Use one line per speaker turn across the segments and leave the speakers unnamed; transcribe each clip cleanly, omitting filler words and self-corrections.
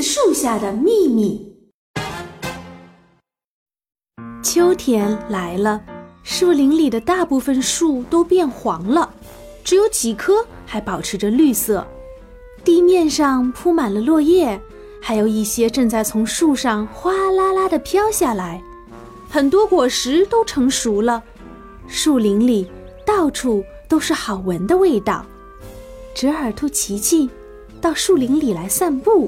树下的秘密。秋天来了，树林里的大部分树都变黄了，只有几棵还保持着绿色。地面上铺满了落叶，还有一些正在从树上哗啦啦地飘下来。很多果实都成熟了，树林里到处都是好闻的味道。折耳兔琪琪到树林里来散步。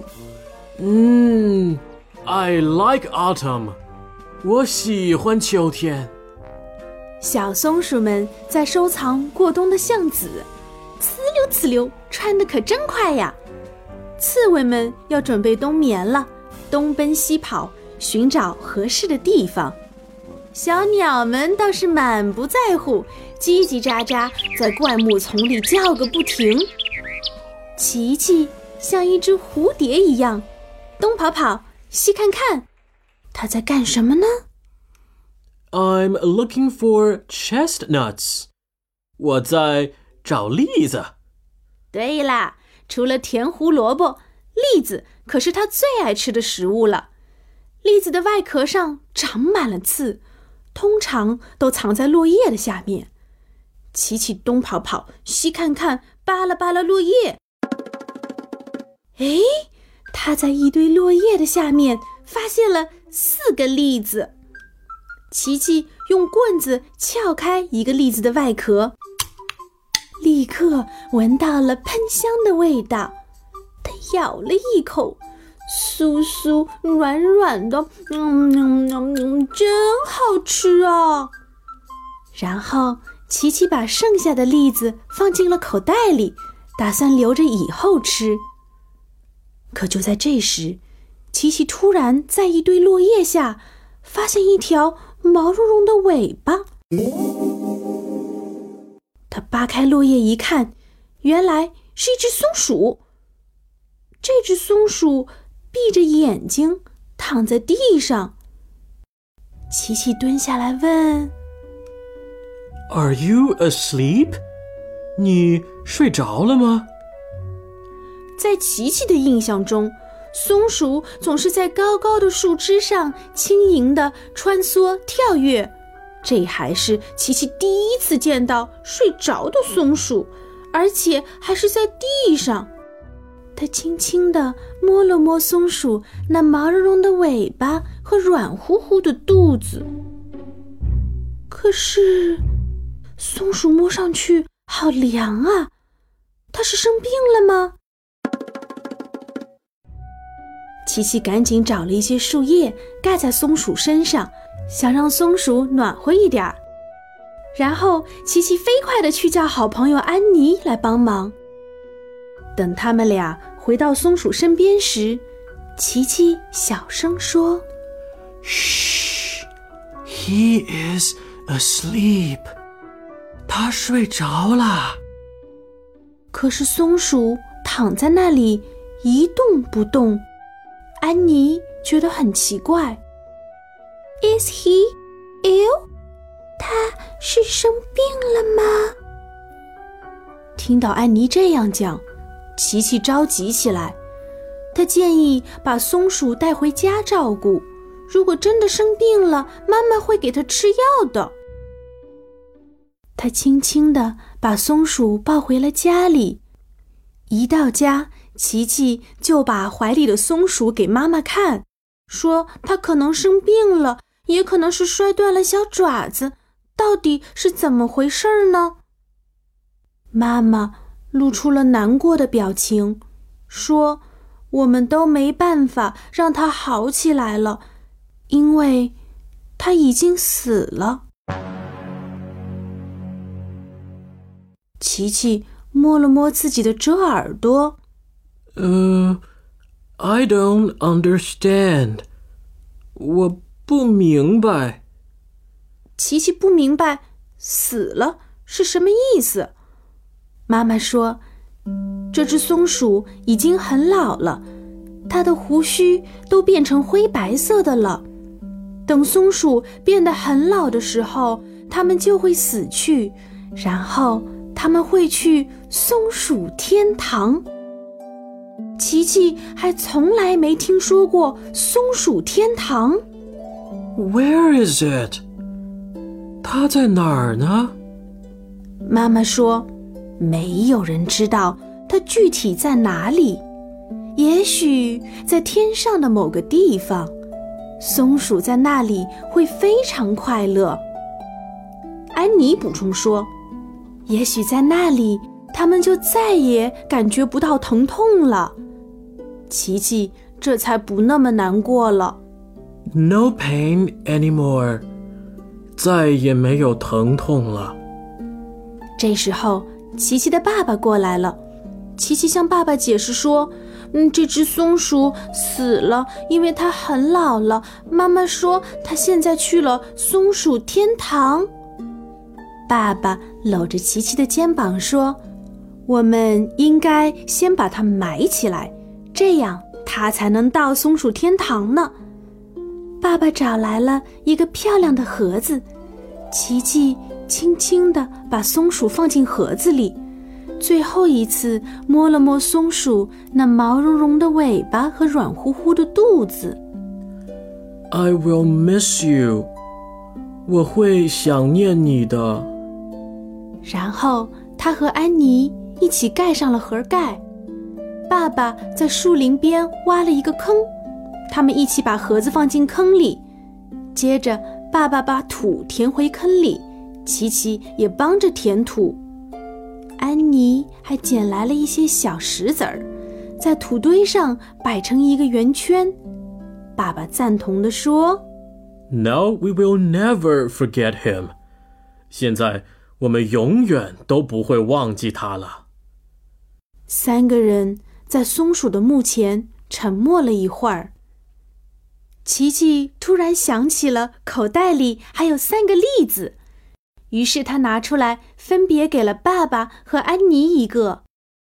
I like autumn. 我喜欢秋天。
小松鼠们在收藏过冬的橡子，呲溜呲溜，穿得可真快呀！刺猬们要准备冬眠了，东奔西跑，寻找合适的地方。小鸟们倒是满不在乎，叽叽喳喳在灌木丛里叫个不停。琪琪像一只蝴蝶一样，东跑跑，西看看，它在干什么呢？
I'm looking for chestnuts. 我在找栗子。
对啦，除了甜胡萝卜，栗子可是它最爱吃的食物了。栗子的外壳上长满了刺，通常都藏在落叶的下面。琪琪东跑跑，西看看，扒拉扒拉落叶。诶，他在一堆落叶的下面发现了4个栗子。琪琪用棍子撬开一个栗子的外壳，立刻闻到了喷香的味道。他咬了一口，酥酥软软的，真好吃啊！然后琪琪把剩下的栗子放进了口袋里，打算留着以后吃。可就在这时，琪琪突然在一堆落叶下发现一条毛茸茸的尾巴。他扒开落叶一看，原来是一只松鼠。这只松鼠闭着眼睛躺在地上。琪琪蹲下来问
Are you asleep? 你睡着了吗？
在琪琪的印象中，松鼠总是在高高的树枝上轻盈地穿梭跳跃，这还是琪琪第一次见到睡着的松鼠，而且还是在地上。他轻轻地摸了摸松鼠那毛茸茸的尾巴和软乎乎的肚子。可是松鼠摸上去好凉啊，它是生病了吗？琪琪赶紧找了一些树叶盖在松鼠身上，想让松鼠暖和一点。然后琪琪飞快地去叫好朋友安妮来帮忙。等他们俩回到松鼠身边时，琪琪小声说
Shh, he is asleep. 他睡着了。
可是松鼠躺在那里一动不动。安妮觉得很奇怪。Is he ill? 他是生病了吗？听到安妮这样讲，琪琪着急起来。他建议把松鼠带回家照顾，如果真的生病了，妈妈会给他吃药的。他轻轻地把松鼠抱回了家里。一到家，琪琪就把怀里的松鼠给妈妈看，说它可能生病了，也可能是摔断了小爪子，到底是怎么回事呢？妈妈露出了难过的表情，说我们都没办法让它好起来了，因为它已经死了。琪琪摸了摸自己的折耳朵。
I don't understand. 我不明白。
琪琪不明白死了是什么意思。妈妈说，这只松鼠已经很老了，它的胡须都变成灰白色的了。等松鼠变得很老的时候，它们就会死去，然后它们会去松鼠天堂。 琪琪还从来没听说过松鼠天堂。
Where is it? 它在哪儿呢？
妈妈说，没有人知道它具体在哪里，也许在天上的某个地方，松鼠在那里会非常快乐。安妮补充说，也许在那里它们就再也感觉不到疼痛了。琪琪这才不那么难过了。
No pain anymore. 再也没有疼痛了。
这时候，琪琪的爸爸过来了。琪琪向爸爸解释说，这只松鼠死了，因为它很老了。妈妈说，它现在去了松鼠天堂。爸爸搂着琪琪的肩膀说，我们应该先把它埋起来，这样它才能到松鼠天堂呢。爸爸找来了一个漂亮的盒子，琪琪轻轻地把松鼠放进盒子里，最后一次摸了摸松鼠那毛茸茸的尾巴和软乎乎的肚子。
I will miss you. 我会想念你的。
然后他和安妮一起盖上了盒盖。爸爸在树林边挖了一个坑，他们一起把盒子放进坑里。接着爸爸把土填回坑里，琪琪也帮着填土。安妮还捡来了一些小石子儿，在土堆上摆成一个圆圈。爸爸赞同地说，
Now we will never forget him. 现在我们永远都不会忘记他了。
三个人在松鼠的墓前沉默了一会儿。琪琪突然想起了口袋里还有3个栗子，于是他拿出来分别给了爸爸和安妮一个。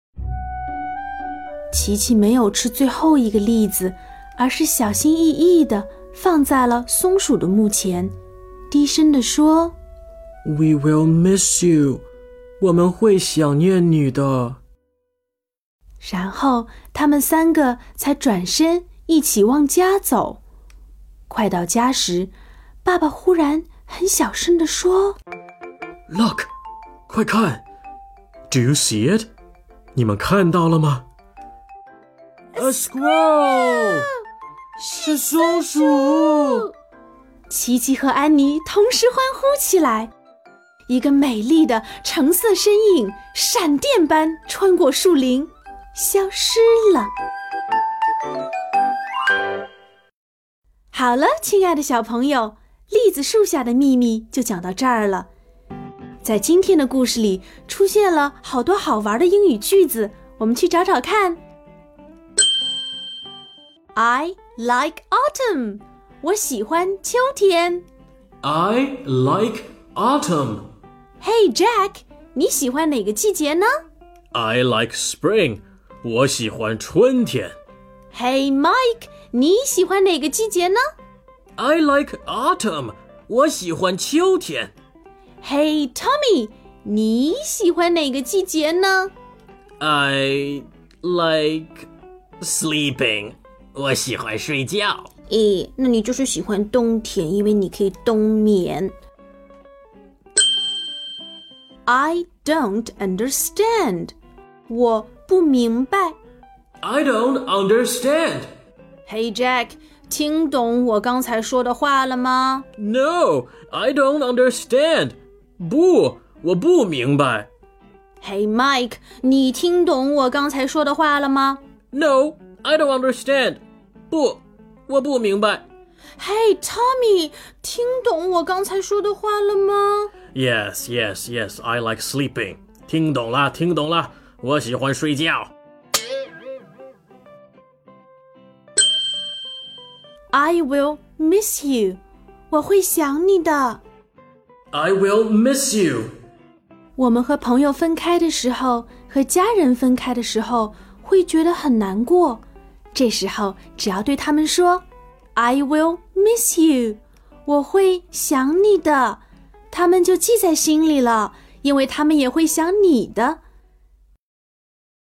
琪琪没有吃最后一个栗子，而是小心翼翼地放在了松鼠的墓前，低声地说，
We will miss you. 我们会想念你的。
然后他们3个才转身一起往家走。快到家时，爸爸忽然很小声地说，
Look, 快看 Do you see it? 你们看到了吗？ A squirrel! 是松鼠！
琪琪和安妮同时欢呼起来。一个美丽的橙色身影闪电般穿过树林，消失了。好了，亲爱的小朋友，栗子树下的秘密就讲到这儿了。在今天的故事里出现了好多好玩的英语句子，我们去找找看。I like autumn. 我喜欢秋天。
I like autumn.
Hey Jack, 你喜欢哪个季节呢？
I like spring. 我喜欢春天。
Hey Mike, 你喜欢哪个季节呢？
I like autumn. 我喜欢秋天。
Hey Tommy, 你喜欢哪个季节呢？
I like sleeping. 我喜欢睡觉。
那你就是喜欢冬天，因为你可以冬眠。I don't understand. 我不明白。
I don't understand.
Hey Jack, 听懂我刚才说的话了吗？
No, I don't understand. 不，我不明白。
Hey Mike, 你听懂我刚才说的话了吗？
No, I don't understand. 不，我不明白。
Hey Tommy, 听懂我刚才说的话了吗？
Yes, yes, yes, I like sleeping. 听懂了，听懂了，我喜欢睡觉。
I will miss you. 我会想你的。
I will miss you.
我们和朋友分开的时候，和家人分开的时候，会觉得很难过。这时候，只要对他们说 I will miss you. 我会想你的，他们就记在心里了，因为他们也会想你的。